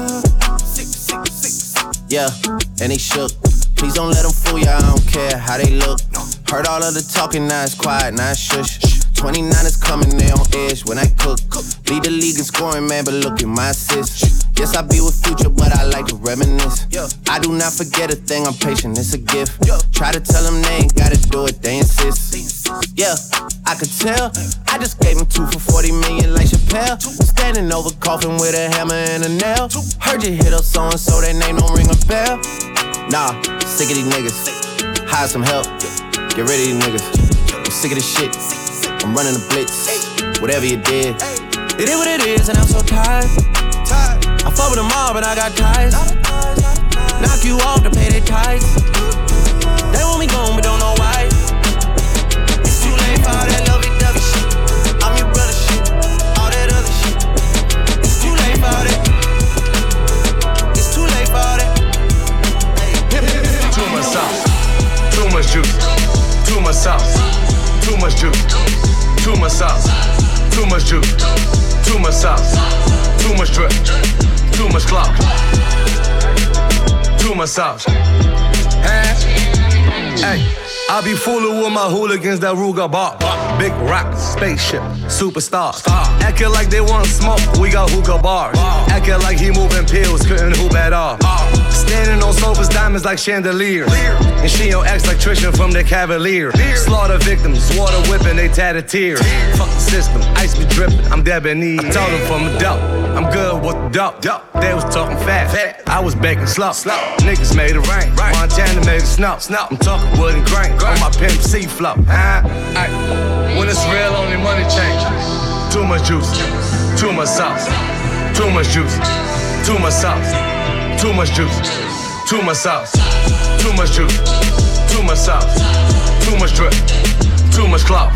Yeah, and they shook. Please don't let them fool ya, I don't care how they look. Heard all of the talking, now it's quiet, now it's shush. 29 is coming, they on edge when I cook. Lead the league in scoring, man, but look at my assists. Yes, I be with Future, but I like to reminisce. I do not forget a thing, I'm patient, it's a gift. Try to tell them they ain't gotta do it, they insist. Yeah, I could tell. I just gave him 2 for 40 million like Chappelle. Standing over coffin with a hammer and a nail. Heard you hit up so-and-so, that name don't ring a bell. Nah, sick of these niggas. Hire some help, get rid of these niggas. I'm sick of this shit, I'm running a blitz. Whatever you did, it is what it is and I'm so tired. I fuck with them all but I got ties. Knock you off to pay their tithes. They want me gone but don't know why. It's too late for all that lovey-dovey shit. I'm your brother shit, all that other shit. It's too late for all that. It's too late for all that. Too much sauce, too much juice. Too much sauce, too much juice. Too much sauce, too much juice. Too much sauce, too much drip. Too much clout. Too much sauce. Hey, I be fooling with my hooligans that Ruger bar. Big rock, spaceship, superstars. Acting like they want smoke, we got hookah bars. Acting like he moving pills, couldn't hoop at all. Standing on sofas, diamonds like chandeliers. And she on ex-electrician from the Cavalier. Slaughter victims, water whipping, they tatted tears. Fuck the system, ice be dripping, I'm debonair. I told them from the dope, I'm good with the dope. They was talking fast, I was baking slow. Niggas made it rain, Montana made it snow. I'm talking wood and grain, on my Pimp C flow. When it's real, only money changes. Too much juice, too much sauce. Too much juice, too much sauce. Too much juice, too much sauce. Too much juice, too much sauce. Too much drip, too much clout.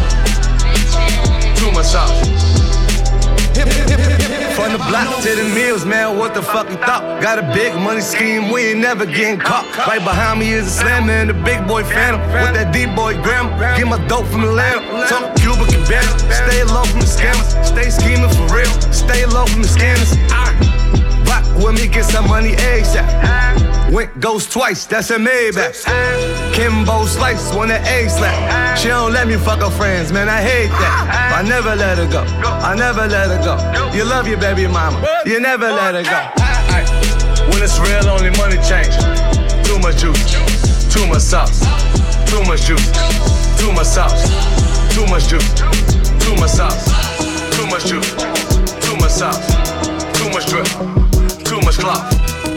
Too much sauce. From the block to the mills, man, what the fuck you thought? Got a big money scheme, we ain't never getting caught. Right behind me is a slammer and the big boy phantom. With that D-boy grammar, get my dope from Atlanta. Talk Cuba Cabana, stay low from the scammers. Stay scheming for real, stay low from the scanners. Rock with me, get some money ASAP. Went ghost twice, that's a Maybach. Kimbo Slice, want an A slap. She don't let me fuck her friends, man, I hate that. I never let her go, I never let her go. You love your baby mama, you never let her go. When it's real, only money change. Too much juice, too much sauce. Too much juice, too much sauce. Too much juice, too much sauce. Too much juice, too much sauce. Too much drip, too much clout.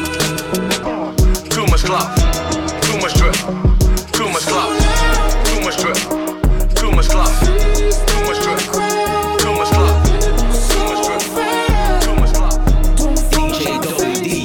Too much clout, too much drip, too much clout. Too much drip, too much clout. Too much drip, too much clout. Too much drip, too much clout. DJ Double D.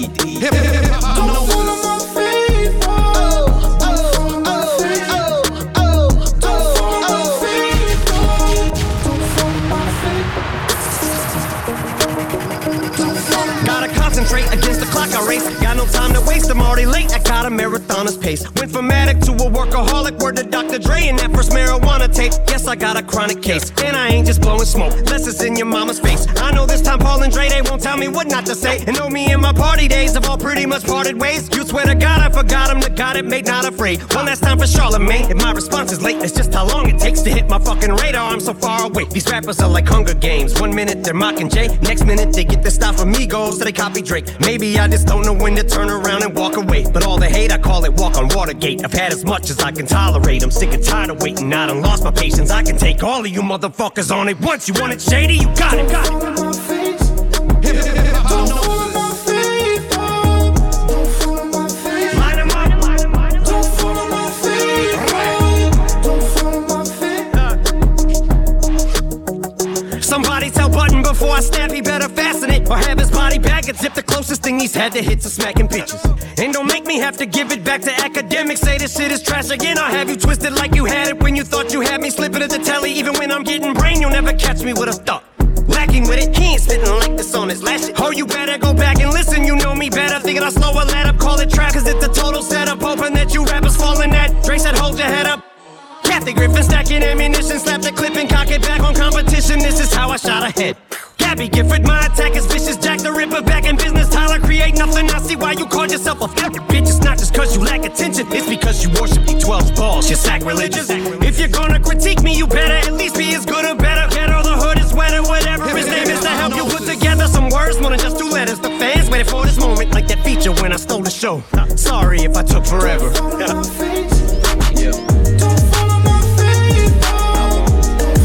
Against the clock I race, got no time to waste, I'm already late, I got a marathoner's pace. Went from addict to a workaholic, word to Dr. Dre and that first marijuana tape. Yes, I got a chronic case, and I ain't just blowing smoke, less it's in your mama's face. I know this time Paul and Dre, they won't tell me what not to say. And know me and my party days have all pretty much parted ways. You swear to God I forgot him, the God it made not afraid. One last time for Charlemagne, if my response is late, it's just how long it takes to hit my fucking radar, I'm so far away. These rappers are like Hunger Games, 1 minute they're mocking Jay, next minute they get their style from Migos, so they copy Drake. Maybe I just don't know when to turn around and walk away. But all the hate, I call it walk on Watergate. I've had as much as I can tolerate. I'm sick and tired of waiting. I done lost my patience. I can take all of you motherfuckers on it once. You want it shady? You got it. Got it. Somebody tell Button before I snap, he better fasten it. Or have his body bag and zip the closest thing he's had to hits of smacking pitches. And don't make me have to give it back to academics. Say this shit is trash again, I'll have you twisted like you had it when you thought you had me. Slipping at the telly, even when I'm getting brain, you'll never catch me with a thought. Lacking with it, he ain't spitting like this on his last shit. Oh, you better go back and listen, you know me better. Thinking I'll slow a let up, call it trap, cause it's a total setup. Hoping that you rappers falling that. Dre said hold your head up. Kathy Griffin stacking ammunition, slap the clip and cock it back on competition. This is how I shot ahead. Gabby Gifford, my attack is vicious. Jack the Ripper back in business. Tyler create nothing. I see why you called yourself a fucking bitch. It's not just cause you lack attention, it's because you worship D12's balls. You're sacrilegious. If you're gonna critique me, you better at least be as good or better. Get or the hood is wetter, whatever his name is, to help you put together some words more than just 2 letters. The fans waited for this moment like that feature when I stole the show. Sorry if I took forever.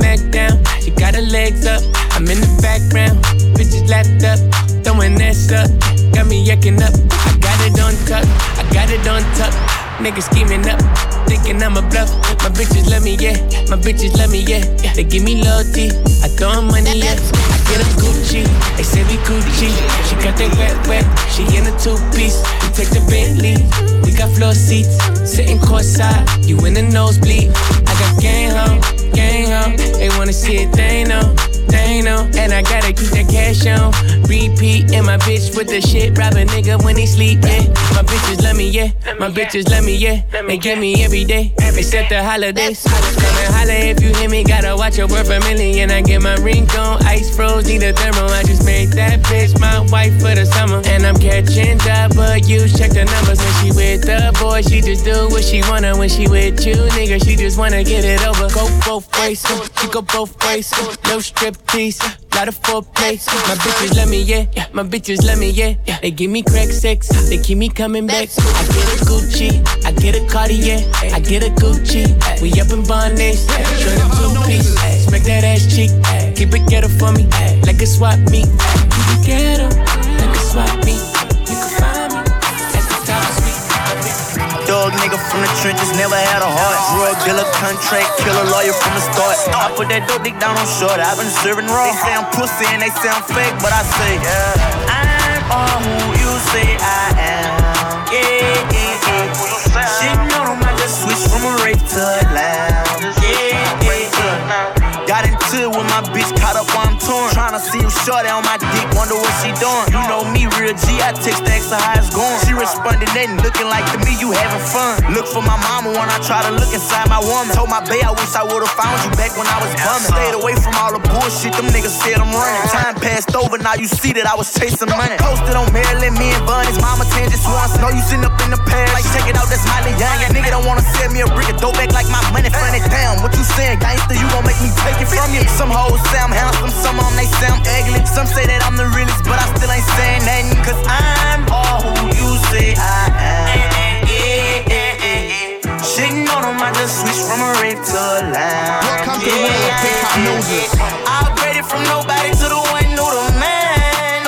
Mac down. She got her legs up, I'm in the background. Bitches lapped up, throwing ass up. Got me yucking up, I got it on tuck, I got it on tuck. Niggas scheming up, thinking I'm a bluff. My bitches love me, yeah. My bitches love me, yeah. They give me loyalty, I throw them money, yeah. I get them Gucci, they say we Gucci. She got that wet, she in a two-piece. We take the Bentley, we got floor seats. Sitting courtside, you in the nosebleed. I got gang home. They wanna see it, they know. And I gotta keep that cash on repeat. And my bitch with the shit, rob a nigga when he sleep, yeah. My bitches love me, yeah. My bitches love me, yeah. They give me every day, except the holidays. Come and holla if you hear me, gotta watch your word for $1,000,000. I get my ring on, ice froze, need a thermo. I just made that bitch my wife for the summer. And I'm catching W's, check the numbers. When she with the boy, she just do what she wanna. When she with you, nigga, she just wanna get it over. Go both ways, she go both ways. No striptease, lot of foreplay. My bitches love me, yeah. My bitches love me, yeah. They give me crack sex, they keep me coming back. I get a Gucci, I get a Cartier, I get a Gucci. We up in Barnes, show them two-piece. Smack that ass cheek, keep it ghetto for me, like a swap meet. Keep it ghetto, like a swap meet. You can find me at the top of sweet. Dog nigga from the trenches, never had a heart. Drug dealer, contract killer, lawyer from the start. I put that dope dick down on short, I've been serving raw. They say I'm pussy and they say I'm fake, but I say, I'm all who you say I am. Yeah. She know them, I just switched from a rape to a lounge. Yeah. Got into it with my bitch, caught up while I'm torn. Tryna see you shorty on my dick, wonder what she doing. You know me, real G, I text the extra how it's going. She responded, nothing looking like to me, you having fun. Look for my mama when I try to look inside my woman. Told my bae I wish I would've found you back when I was bumming. Stayed away from all the bullshit, them niggas said I'm running. Time passed over, now you see that I was chasing money. Posted on Maryland, me and Bun, his mama 10 just once. Know you sitting up in the past, like check it out, that's Miley Young. That nigga don't wanna sell me a brick of dope back like my money funny. Damn, what you saying, gangster, you gon' make me take it from you. Some hoes say I'm handsome, some of them they say I'm ugly. Some say that I'm the realest, but I still ain't saying nothing. Cause I'm all who you say I am. Yeah. Shitting on them, I just switched from a rape to a lounge. Welcome to the world of hip-hop noses. I upgraded from nobody to the one who the man.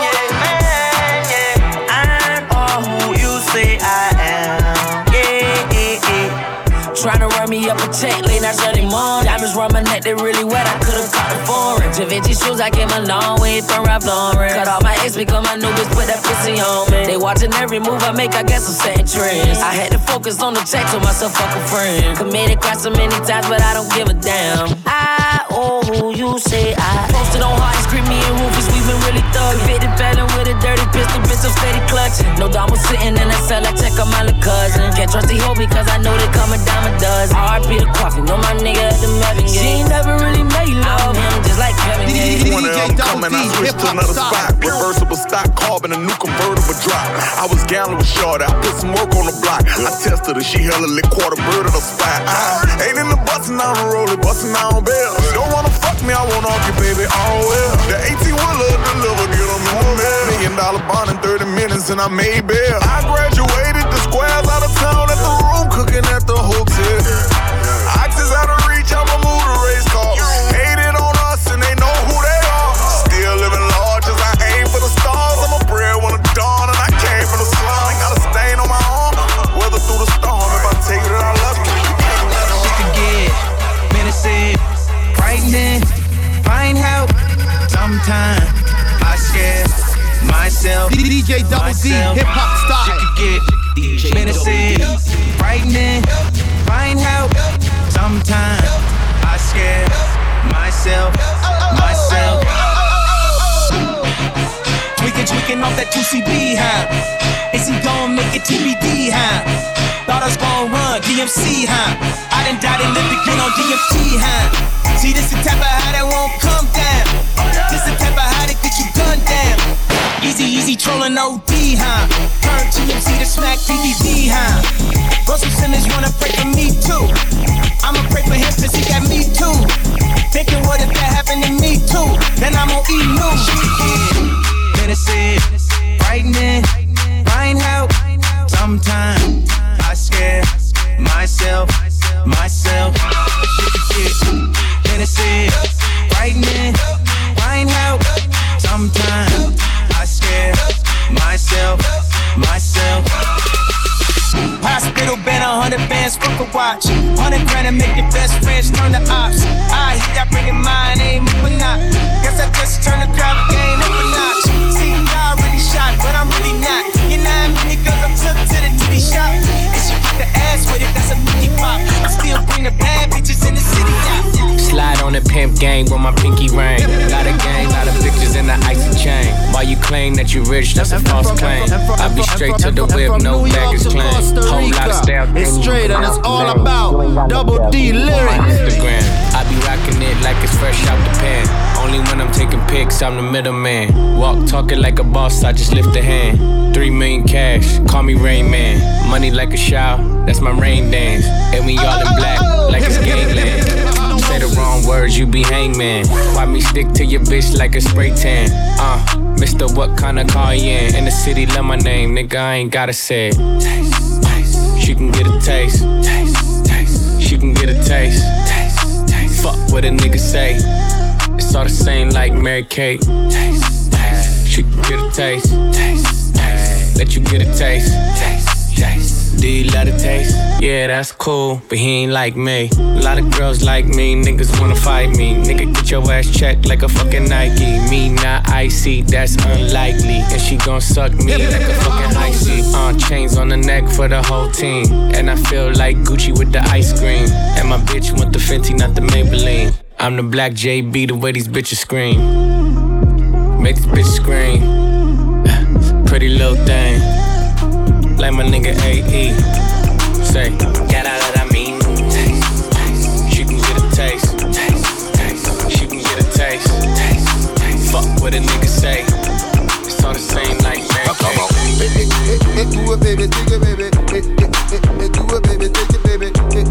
Yeah. I'm all who you say I am. Yeah. Tryna run me up a check, late night Sunday morning. Diamonds round my neck, they really wet, I could've caught a foreign. Givenchy shoes, I came a long way from Ralph Lauren. Cut off my ex because my new bitch put that pussy on me. They watching every move I make, I guess I'm setting trends. I had to focus on the check, told myself fuck a friend. Committed crime so many times, but I don't give a damn. I owe who you say I. Posted on hard, scream me and Rufus, we been really thuggin'. Convicted felon with a dirty pistol, bitch, I'm steady clutching. No dog was sitting in that cell, I check on my little cousin. Can't trust the hoe because I know they coming down my dozen. RP the coffee, know my nigga at the Melvin Gate. She ain't never really made love him, just like Kevin Gates. One of them coming, I switched to another spot. Reversible stock, carbon, a new convertible drop. I was gallon with shorty, I put some work on the block. I tested her, she hella lit, quarter bird of the spot. Ain't in the bustin' on the roller, bustin' on bail. Don't wanna fuck me, I won't argue, baby, all well. The 18-wheeler deliver, get them in the mail. $1 million bond in 30 minutes and I made bail. I graduated the squares out of town at the room, cooking at the hotel. Oxys out of reach, I'ma move the race car. Hated on us and they know who they are. Still living large as I aim for the stars. I'm a bread when it's dawn and I came from the slum. Got a stain on my arm, weather through the storm. If I tell you that I love you, She could get menacing, frightening, find help. Sometimes I scare myself. DJ Double D, hip-hop style. She could get menacing, frightening, find help. Sometimes I scare myself. Tweaking off that 2CB, huh? Is he gon' make it TBD, huh? Thought I was gon' run DMC, huh? I done died and lived again on DMT, huh? See, this the type of high that won't come down. This the type of high that get you gunned down. Easy trolling OD, huh? Turn TMC to smack BBD, huh? Russell Simmons wanna pray for me too. I'ma pray for him cause he got me too. Thinking what if that happened to me too? Then I'm on E-News. Medicine, frightening, find help. Sometimes I scare myself. Hennessy. Frightening, find help. Sometimes I scare myself. Hospital been 100 bands, fuck a watch. 100 grand to make your best friends turn to ops. I hit that bringing mine, ain't moving not. Guess I just turned the crowd game up a notch. See, I already shot, but I'm really not. You know how many girls I took to the titty shop? And she put the ass with it, that's a 50 pop. I still bring the bad bitches in the city. Slide on the pimp gang with my pinky ring. Lot of gang, lot of bitches in the icy chain. While you claim that you rich, that's a false claim. I be straight to the whip, no baggage claim. Whole lot of style. It's straight and it's all about Double D lyrics. Instagram, I be rocking it like it's fresh out the pan. Only when I'm taking pics, I'm the middleman. Walk talking like a boss, I just lift a hand. 3 million cash, call me Rain Man. Money like a shower, that's my rain dance. And we all in black, like it's gangland. Say the wrong words, you be hangman. Why me stick to your bitch like a spray tan? Mister, what kind of car you in? In the city, love my name, nigga, I ain't gotta say it. Taste, taste. She can get a taste. Taste, taste. She can get a taste. Taste, taste. Fuck what a nigga say. It's all the same like Mary Kate. Taste, taste. She can get a taste. Taste, taste. Let you get a taste. Taste, taste. Do you love the taste? Yeah, that's cool, but he ain't like me. A lot of girls like me, niggas wanna fight me. Nigga, get your ass checked like a fucking Nike. Me not icy, that's unlikely. And she gon' suck me like a fucking icy. Chains on the neck for the whole team. And I feel like Gucci with the ice cream. And my bitch want the Fenty, not the Maybelline. I'm the black JB, the way these bitches scream. Make this bitch scream. Pretty little thing. Like my nigga AE. Say, get out of that mean. Taste, taste. She can get a taste. Taste, taste. She can get a taste. Taste, taste. Fuck what a nigga say. It's all the same like Mary Kate. Do it, baby, take it, baby. Do it, baby, take it, baby.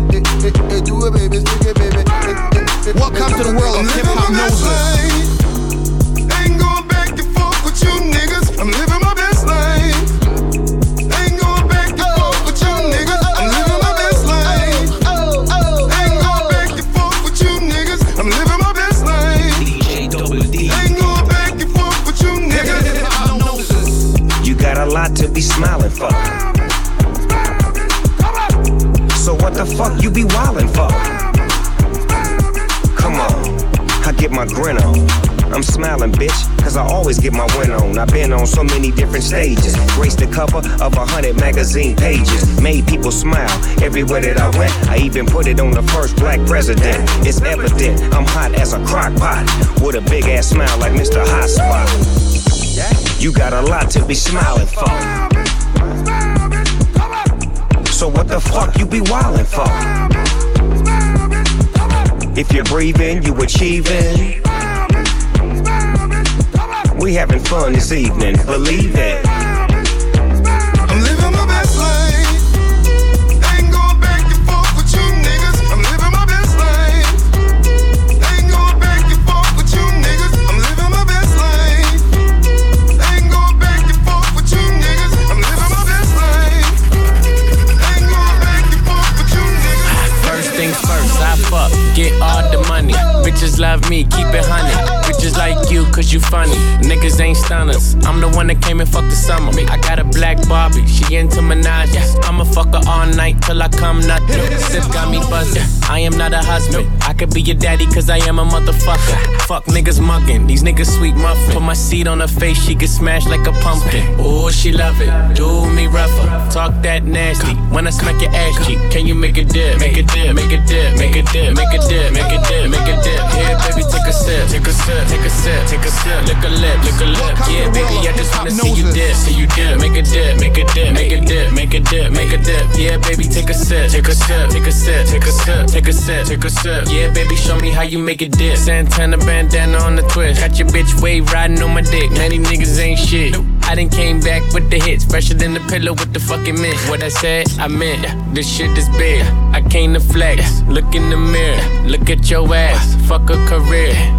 Do it, baby, take it, baby. Welcome to the world of hip hop noses. Ain't going back and forth with you niggas. I'm living my best life. A lot to be smiling for. So what the fuck you be wildin' for? Come on, I get my grin on. I'm smiling, bitch, cause I always get my win on. I've been on so many different stages. Graced the cover of 100 magazine pages. Made people smile everywhere that I went. I even put it on the first black president. It's evident I'm hot as a crock pot. With a big ass smile like Mr. Hot Spot. You got a lot to be smiling for. So what the fuck you be wildin' for? If you're breathing, you achieving. We having fun this evening, believe it. I'm living my best life. Ain't going back and forth with you niggas. I'm living my best life. Ain't going back and forth with you niggas. I'm living my best life. Ain't going back and forth with you niggas. I'm living my best life. Ain't going back and forth with you niggas. First things first, I fuck, get all the money. Bitches love me, keep it 100. Bitches like you, cause you funny. Niggas ain't stunners. I'm the one that came and fucked the summer. I got a black Barbie, she into Minaj. I'ma fuck her all night till I come nothing. Sip got me buzzing. I am not a husband. I could be your daddy, cause I am a motherfucker. Fuck niggas mugging, these niggas sweet muffin. Put my seed on her face, she get smashed like a pumpkin. Ooh, she love it, do me rougher. Talk that nasty, when I smack your ass cheek. Can you make a dip, make a dip, make a dip, make a dip, make a dip, make a dip, make a dip. Here, baby, take a sip, take a sip, take a sip, take a sip. Lick a lip, lick a lip. Yeah, baby, I just wanna see you dip, see you dip. Make a dip, make a dip, make a dip, make a dip, make a dip. Yeah, baby, take a sip, take a sip, take a sip, take a sip, take a sip, take a sip. Yeah, baby, show me how you make a dip. Santana bandana on the twist. Got your bitch wave riding on my dick. Many niggas ain't shit. I done came back with the hits, fresher than the pillow with the fucking mint. What I said, I meant. This shit is big. I came to flex. Look in the mirror, look at your ass. Fuck a career.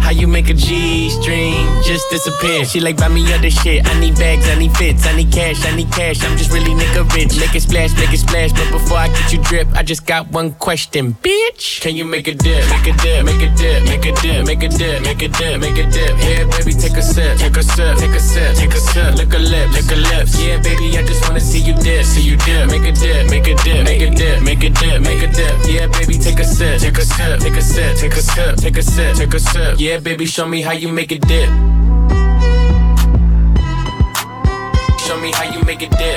How you make a G-string just disappear? She like, buy me other shit. I need bags, I need fits, I need cash, I'm just really nigga rich. Make it splash, but before I get you drip, I just got one question, bitch. Can you make a dip, make a dip, make a dip, make a dip, make a dip, make a dip, make a dip? Yeah, baby, take a sip, take a sip, take a sip, take a sip. Lick a lip, lick a lips. Yeah, baby, I just wanna see you dip, see you dip. Make a dip, make a dip, make a dip, make a dip, make a dip. Yeah, baby, take a sip, take a sip, take a sip, take a sip, take a sip, take a sip. Yeah, baby, show me how you make a dip. Show me how you make a dip.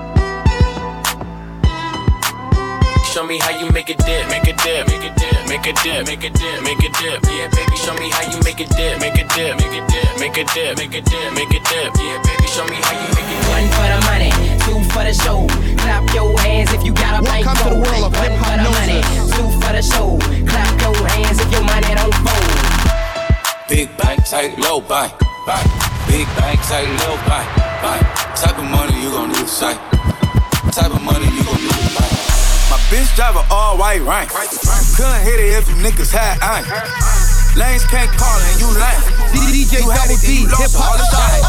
Show me how you make a dip, make a dip, make a dip, make a dip, make a dip, make a dip. Yeah, baby, show me how you make a dip, make a dip, make a dip, make a dip, make a dip, make a dip. Yeah, baby, show me how you make a dip. One for the money, two for the show. Clap your hands if you got a bank. Welcome to the world of One for the money, two for the show. Clap your hands if your money don't fold. Big bank, tight, low bank, bank. Big bank, tight, low bank, bank. Type of money you gon' need to sight. Type of money you gon' need to buy. My bitch drive a all white rank. Couldn't hit it if you niggas had ain't. Lanes can't call and you lame. DJ Double D, hip hop style.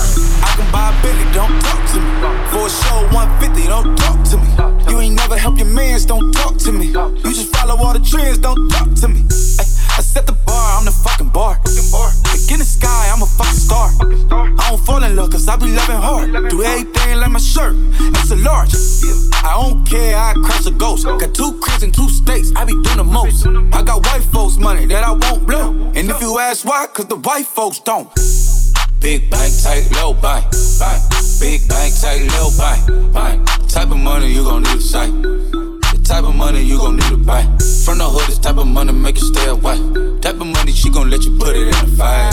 I can buy a Bentley, don't talk to me. For a show 150, don't talk to me. You ain't never help your mans, don't talk to me. You just follow all the trends, don't talk to me. I set the bar, I'm the fucking bar. Like in the sky, I'm a fucking star. I don't fall in love cause I be loving hard. Do everything like my shirt, it's a large. I don't care, I crash a ghost. Got 2 cribs in 2 states, I be doing the most. I got white folks money that I won't blow. And if you ask why, cause the white folks don't. Big bank, tight, low bank, bank. Big bank, tight, low bank, bank. Type of money you gon' need to sight. The type of money you gon' need to buy. From the hood, this type of money make you stay away. Type of money she gon' let you put it in the fight.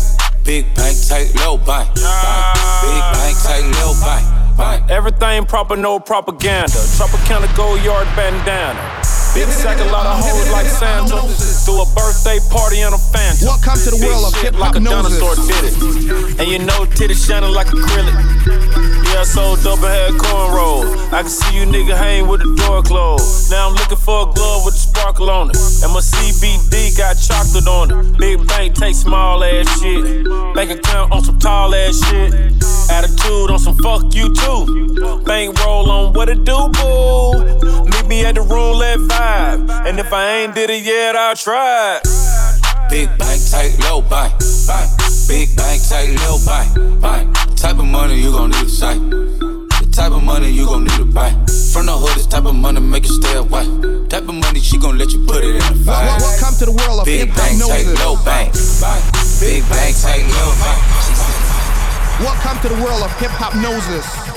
Big bank, tight, low bank, bank. Big bank, tight, low bank, bank. Everything proper, no propaganda. Tropicana gold yard bandana. Big sack, a lot of hoes like Santa. Threw a birthday party in a Phantom. Welcome to the world of hip hop like a dinosaur did it. And you know titties shining like acrylic. Yeah, I sold double head cornrows. I can see you nigga hang with the door closed. Now I'm looking for a glove with a sparkle on it. And my CBD got chocolate on it. Big bank take small ass shit. Bank account on some tall ass shit. Attitude on some fuck you too. Bank roll on what it do, boo. Meet me at the roulette vibe. And if I ain't did it yet, I'll try it. Big bank, tight, low bank, bank. Big bank, tight, low bank, bank. Type of money you gon' need to sight. The type of money you gon' need to buy. From the hood, this type of money make you stay away. Type of money she gon' let you put it in the fire. Welcome to the world of big hip bank, hop tight, low bank, bank. Big bank, tight, low bank. Welcome to the world of hip hop noses.